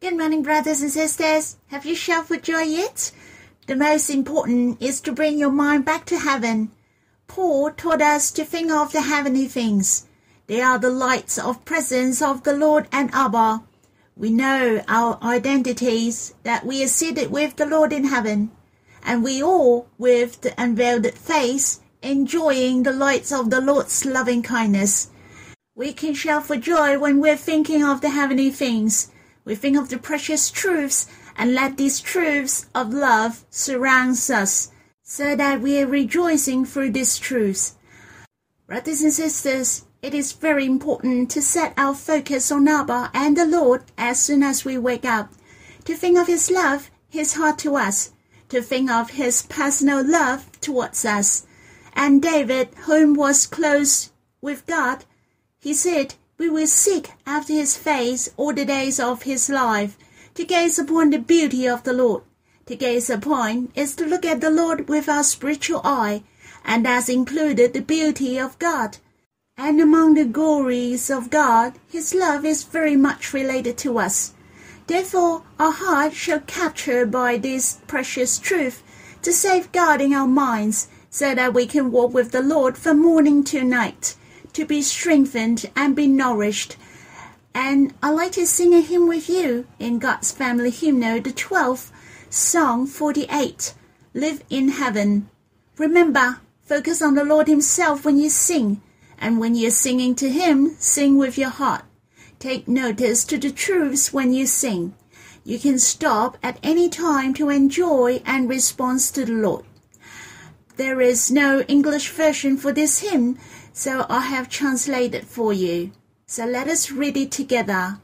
Good morning, brothers and sisters. Have you shouted for joy yet? The most important is to bring your mind back to heaven. Paul taught us to think of the heavenly things. They are the lights of presence of the Lord and Abba. We know our identities, that we are seated with the Lord in heaven, and we all, with the unveiled face, enjoying the lights of the Lord's loving kindness. We can shout for joy when we're thinking of the heavenly things. We think of the precious truths and let these truths of love surround us so that we are rejoicing through these truths. Brothers and sisters, it is very important to set our focus on Abba and the Lord as soon as we wake up, to think of His love, His heart to us, to think of His personal love towards us. And David, whom was close with God, he said, we will seek after His face all the days of His life, to gaze upon the beauty of the Lord. To gaze upon is to look at the Lord with our spiritual eye, and that's included the beauty of God. And among the glories of God, His love is very much related to us. Therefore, our heart shall capture by this precious truth to safeguarding our minds, so that we can walk with the Lord from morning to night, to be strengthened and be nourished. And I'd like to sing a hymn with you in God's Family Hymnal, the 12th, Song 48, Live in Heaven. Remember, focus on the Lord Himself when you sing, and when you're singing to Him, sing with your heart. Take notice to the truths when you sing. You can stop at any time to enjoy and respond to the Lord. There is no English version for this hymn, so I have translated for you. So let us read it together.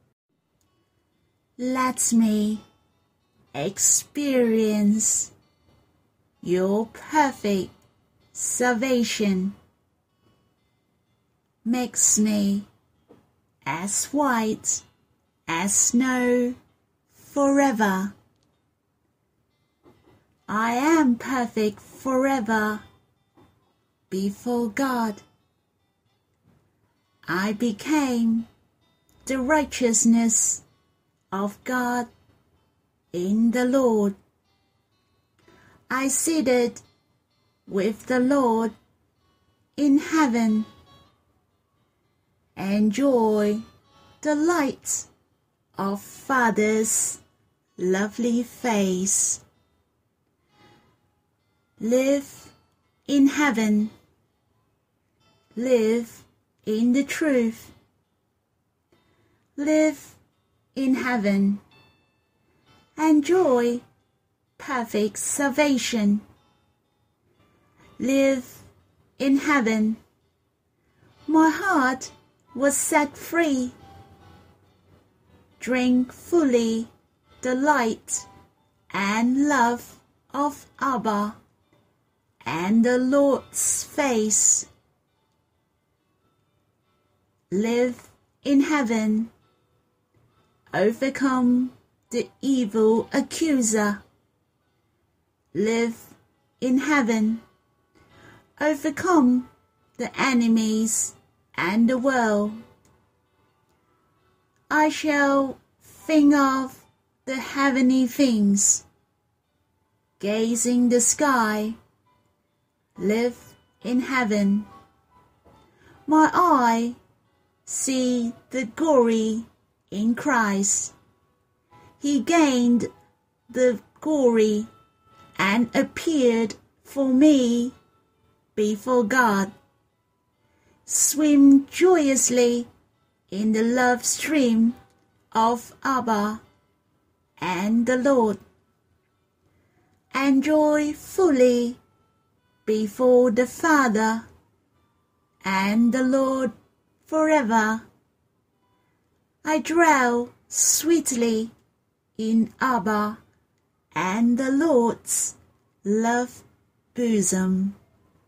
Let me experience your perfect salvation. Makes me as white as snow forever. I am perfect forever before God. I became the righteousness of God in the Lord. I seated with the Lord in heaven. Enjoy the light of Father's lovely face. Live in heaven. Live in the truth. Live in heaven. Enjoy perfect salvation. Live in heaven. My heart was set free. Drink fully the light and love of Abba and the Lord's face. Live in heaven. Overcome the evil accuser. Live in heaven. Overcome the enemies and the world. I shall think of the heavenly things, gazing the sky. Live in heaven. My eye see the glory in Christ. He gained the glory and appeared for me before God. Swim joyously in the love stream of Abba and the Lord. Enjoy fully before the Father and the Lord forever. I dwell sweetly in Abba and the Lord's love bosom.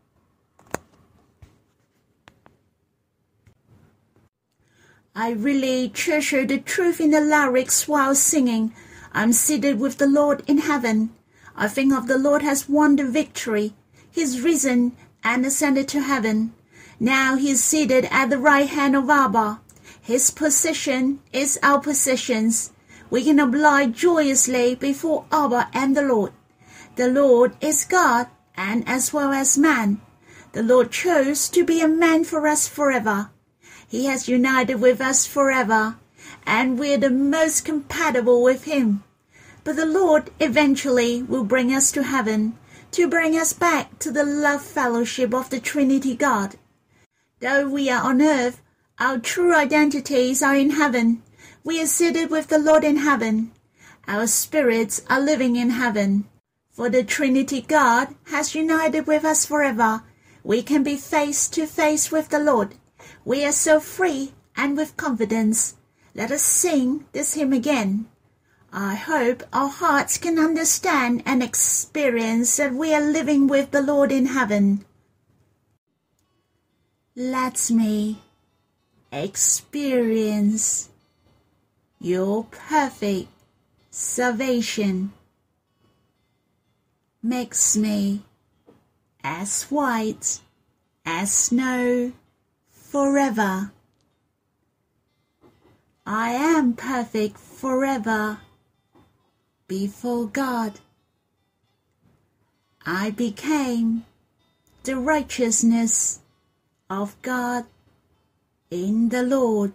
I really treasure the truth in the lyrics while singing. I'm seated with the Lord in heaven. I think of the Lord has won the victory. He's risen and ascended to heaven. Now he is seated at the right hand of Abba. His position is our positions. we can abide joyously before Abba and the Lord. The Lord is God, and as well as man. The Lord chose to be a man for us forever. He has united with us forever, and we're the most compatible with him. But the Lord eventually will bring us to heaven, to bring us back to the love fellowship of the Trinity God. Though we are on earth, our true identities are in heaven. We are seated with the Lord in heaven. Our spirits are living in heaven. For the Trinity God has united with us forever. We can be face to face with the Lord. We are so free and with confidence. Let us sing this hymn again. I hope our hearts can understand and experience that we are living with the Lord in heaven. Let me experience your perfect salvation. Makes me as white as snow forever. I am perfect forever before God. I became the righteousness of God in the Lord.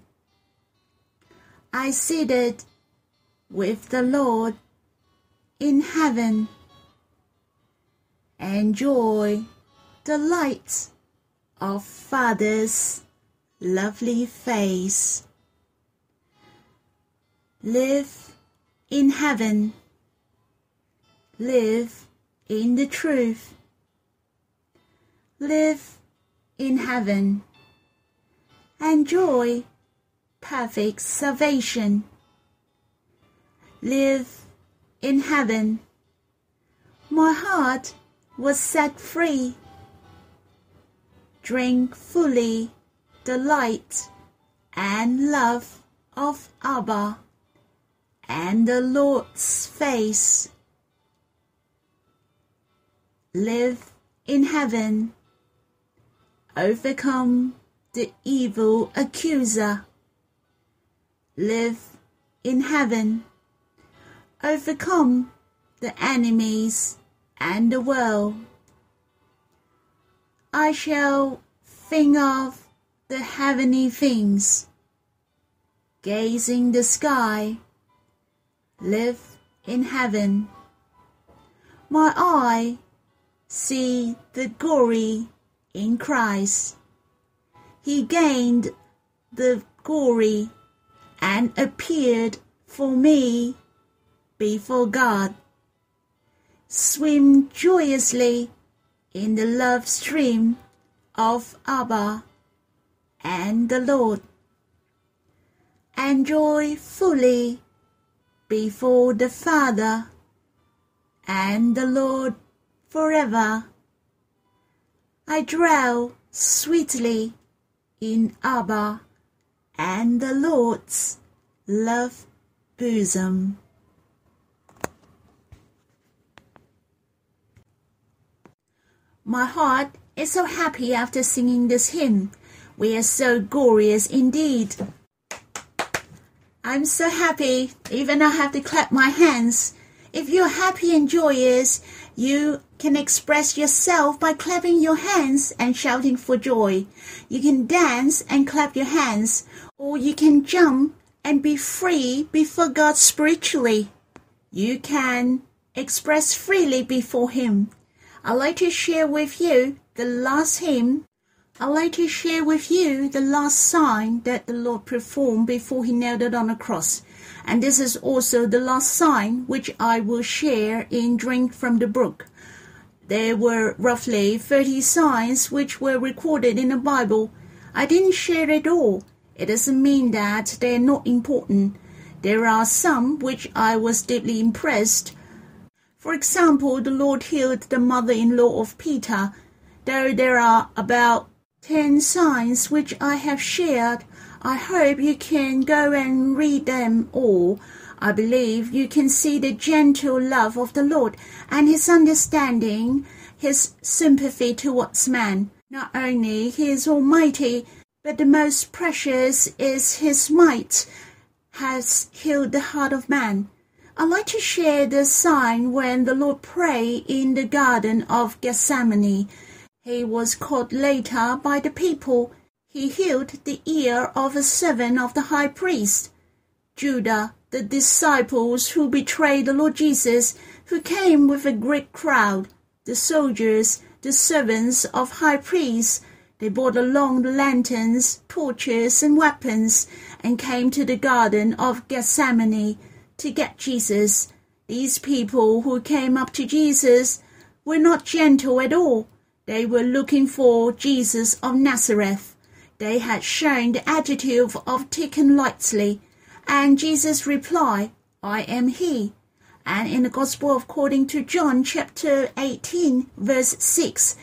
I seated with the Lord in heaven. Enjoy the light of Father's lovely face. Live in heaven. Live in the truth. Live in heaven. Enjoy perfect salvation. Live in heaven. My heart was set free. Drink fully the light and love of Abba and the Lord's face. Live in heaven. Overcome the evil accuser. Live in heaven. Overcome the enemies and the world. I shall think of the heavenly things, gazing the sky. Live in heaven. My eye see the glory in Christ. He gained the glory and appeared for me before God. Swim joyously in the love stream of Abba and the Lord. Enjoy fully before the Father and the Lord forever. I dwell sweetly in Abba and the Lord's love bosom. My heart is so happy after singing this hymn. We are so glorious indeed. I'm so happy, even I have to clap my hands. If you're happy and joyous, you can express yourself by clapping your hands and shouting for joy. You can dance and clap your hands, or you can jump and be free before God spiritually. You can express freely before Him. I'd like to share with you the last hymn. I'd like to share with you the last sign that the Lord performed before He nailed it on the cross. And this is also the last sign which I will share in Drink from the Brook. There were roughly 30 signs which were recorded in the Bible. I didn't share it all. It doesn't mean that they're not important. There are some which I was deeply impressed. For example, the Lord healed the mother-in-law of Peter. Though there are about 10 signs which I have shared, I hope you can go and read them all. I believe you can see the gentle love of the Lord and His understanding, His sympathy towards man. Not only He is almighty, but the most precious is His might. has healed the heart of man. I'd like to share the sign when the Lord prayed in the Garden of Gethsemane. He was caught later by the people. He healed the ear of a servant of the high priest. Judas, the disciples who betrayed the Lord Jesus, who came with a great crowd, the soldiers, the servants of high priests, they brought along the lanterns, torches, and weapons, and came to the Garden of Gethsemane to get Jesus. These people who came up to Jesus were not gentle at all. They were looking for Jesus of Nazareth. They had shown the attitude of taken lightly, and Jesus replied, I am he. And in the Gospel according to John chapter 18, verse 6,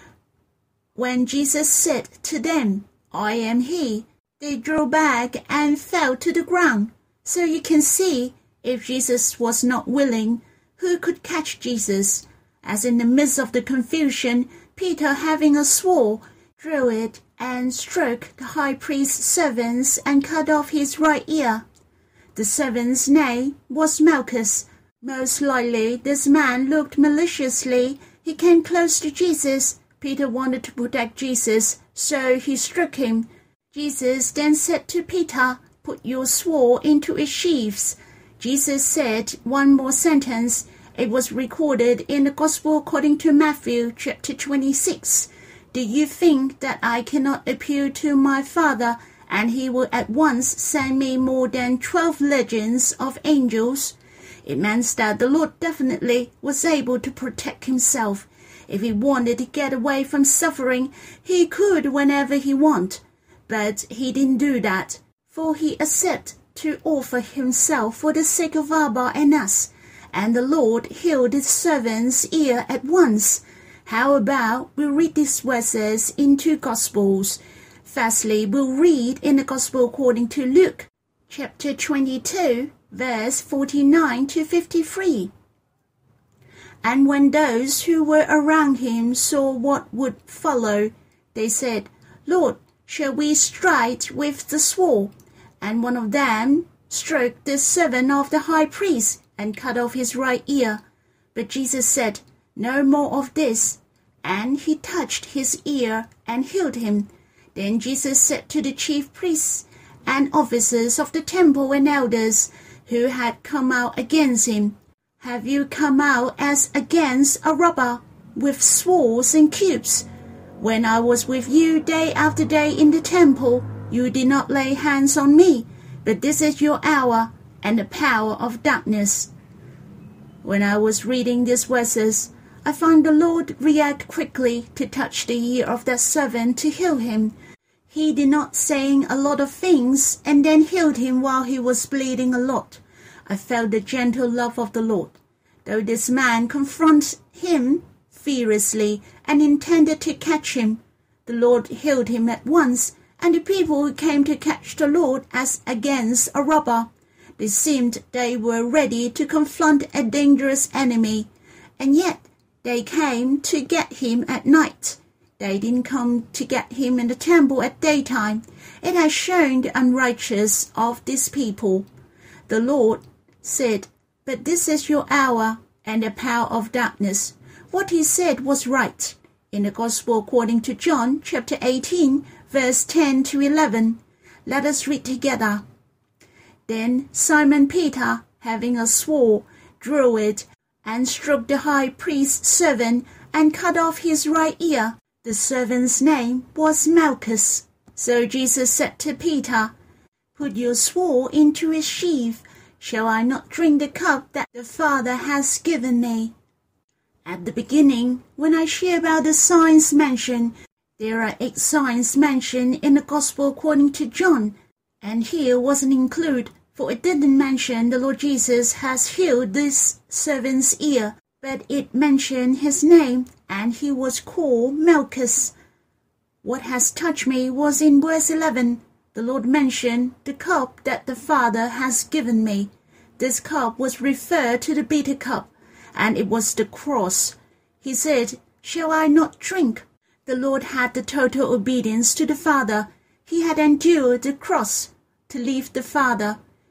when Jesus said to them, I am he, they drew back and fell to the ground. So you can see, if Jesus was not willing, who could catch Jesus? As in the midst of the confusion, Peter, having a sword, drew it and struck the high priest's servants and cut off his right ear. The servant's name was Malchus. Most likely this man looked maliciously. He came close to Jesus. Peter wanted to protect Jesus, so he struck him. Jesus then said to Peter, put your sword into its sheaths. Jesus said one more sentence. It was recorded in the Gospel according to Matthew chapter 26. Do you think that I cannot appeal to my Father, and he will at once send me more than 12 legions of angels? It means that the Lord definitely was able to protect himself. If he wanted to get away from suffering, he could whenever he wanted. But he didn't do that, for he accepted to offer himself for the sake of Abba and us. And the Lord healed his servant's ear at once. How about we read these verses in two Gospels? Firstly, we'll read in the Gospel according to Luke, chapter 22, verse 49 to 53. And when those who were around him saw what would follow, they said, Lord, shall we strike with the sword? And one of them struck the servant of the high priest and cut off his right ear. But Jesus said, no more of this. And he touched his ear and healed him. Then Jesus said to the chief priests and officers of the temple and elders who had come out against him, have you come out as against a robber with swords and cubes? When I was with you day after day in the temple, you did not lay hands on me, but this is your hour and the power of darkness. When I was reading these verses, I found the Lord react quickly to touch the ear of that servant to heal him. He did not saying a lot of things and then healed him while he was bleeding a lot. I felt the gentle love of the Lord. Though this man confronted him fiercely and intended to catch him, the Lord healed him at once, and the people who came to catch the Lord as against a robber, they seemed they were ready to confront a dangerous enemy, and yet they came to get him at night. They didn't come to get him in the temple at daytime. It has shown the unrighteous of these people. The Lord said, but this is your hour and the power of darkness. What he said was right. In the Gospel according to John, chapter 18, verse 10 to 11. Let us read together. Then Simon Peter, having a sword, drew it and struck the high priest's servant and cut off his right ear. The servant's name was Malchus. So Jesus said to Peter, put your sword into its sheath. Shall I not drink the cup that the Father has given me? At the beginning, when I share about the signs mentioned, there are 8 signs mentioned in the Gospel according to John, and here wasn't included, for it didn't mention the Lord Jesus has healed this servant's ear, but it mentioned his name, and he was called Malchus. What has touched me was in verse 11. The Lord mentioned the cup that the Father has given me. This cup was referred to the bitter cup, and it was the cross. He said, shall I not drink? The Lord had the total obedience to the Father. He had endured the cross to leave the Father.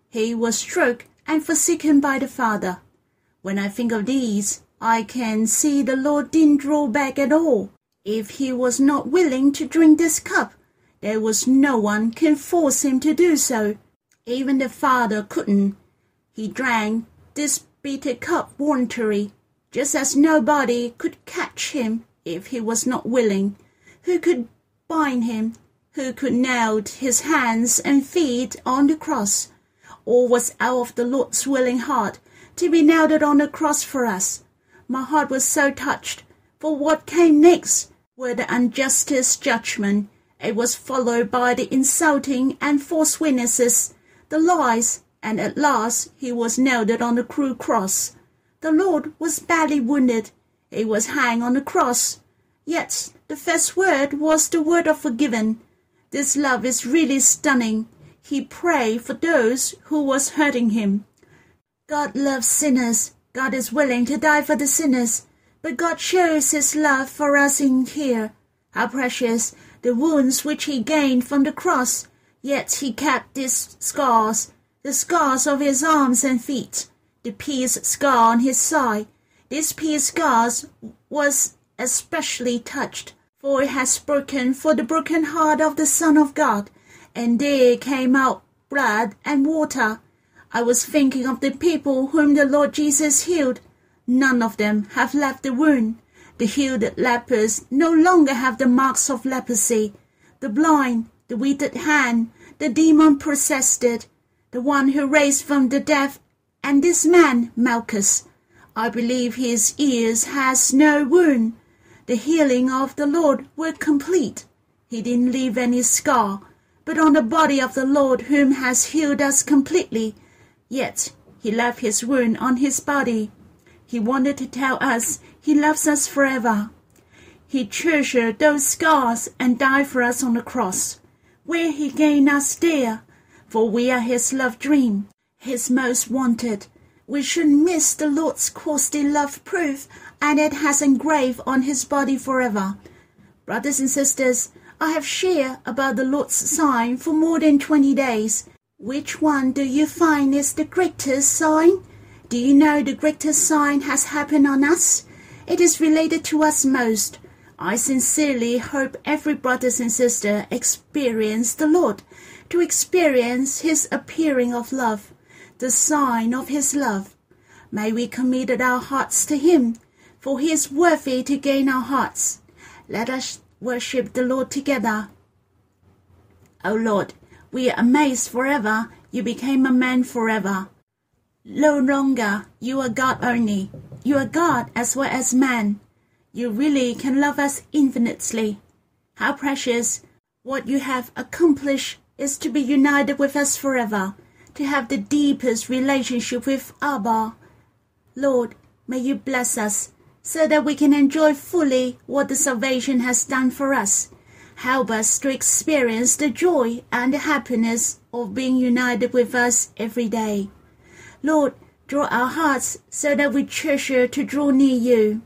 He was struck and forsaken by the Father. When I think of these, I can see the Lord didn't draw back at all. If he was not willing to drink this cup, there was no one can force him to do so. Even the Father couldn't. He drank this bitter cup voluntarily, just as nobody could catch him if he was not willing. Who could bind him? Who could nail his hands and feet on the cross? All was out of the Lord's willing heart to be nailed on the cross for us. My heart was so touched, for what came next were the unjust judgment. It was followed by the insulting and false witnesses, the lies, and at last he was nailed on the cruel cross. The Lord was badly wounded. He was hanged on the cross. Yet the first word was the word of forgiven. This love is really stunning. He prayed for those who was hurting him. God loves sinners. God is willing to die for the sinners. But God shows his love for us in here. How precious the wounds which he gained from the cross. Yet he kept these scars, the scars of his arms and feet, the pierced scar on his side. This pierced scar was especially touched, for it has broken for the broken heart of the Son of God, and there came out blood and water. I was thinking of the people whom the Lord Jesus healed. None of them have left the wound. The healed lepers no longer have the marks of leprosy. The blind, the withered hand, the demon-possessed, the one who raised from the dead, and this man, Malchus. I believe his ears has no wound. The healing of the Lord were complete. He didn't leave any scar, but on the body of the Lord whom has healed us completely. Yet he left his wound on his body. He wanted to tell us he loves us forever. He treasured those scars and died for us on the cross, where he gained us there, for we are his love dream, his most wanted. We shouldn't miss the Lord's costly love proof, and it has engraved on his body forever. Brothers and sisters, I have shared about the Lord's sign for more than 20 days. Which one do you find is the greatest sign? Do you know the greatest sign has happened on us? It is related to us most. I sincerely hope every brother and sister experience the Lord, to experience his appearing of love, the sign of his love. May we commit our hearts to him, for he is worthy to gain our hearts. Let us worship the Lord together. O Lord, we are amazed forever. You became a man forever. No longer you are God only. You are God as well as man. You really can love us infinitely. How precious. What you have accomplished is to be united with us forever, to have the deepest relationship with Abba. Lord, may you bless us so that we can enjoy fully what the salvation has done for us. Help us to experience the joy and the happiness of being united with us every day. Lord, draw our hearts so that we treasure to draw near you.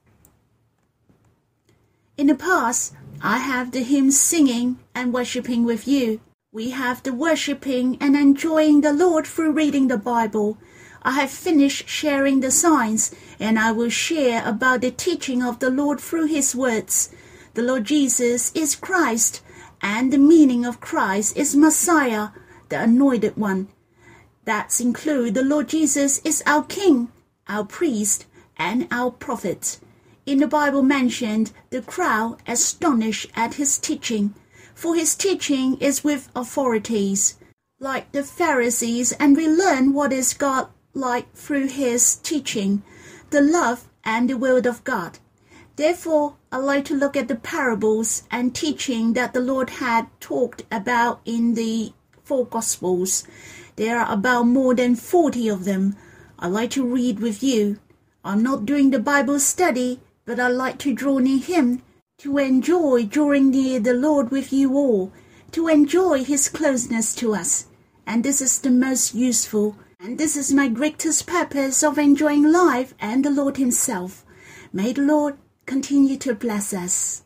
In the past, I have the hymns singing and worshipping with you. We have the worshipping and enjoying the Lord through reading the Bible. I have finished sharing the signs, and I will share about the teaching of the Lord through his words. The Lord Jesus is Christ, and the meaning of Christ is Messiah, the Anointed One. That includes the Lord Jesus is our King, our priest, and our prophet. In the Bible mentioned, the crowd astonished at his teaching, for his teaching is with authorities, like the Pharisees, and we learn what is God like through his teaching, the love and the will of God. Therefore, I like to look at the parables and teaching that the Lord had talked about in the 4 Gospels. There are about more than 40 of them. I like to read with you. I'm not doing the Bible study, but I like to draw near him, to enjoy drawing near the Lord with you all, to enjoy his closeness to us. And this is the most useful, and this is my greatest purpose of enjoying life and the Lord himself. May the Lord continue to bless us.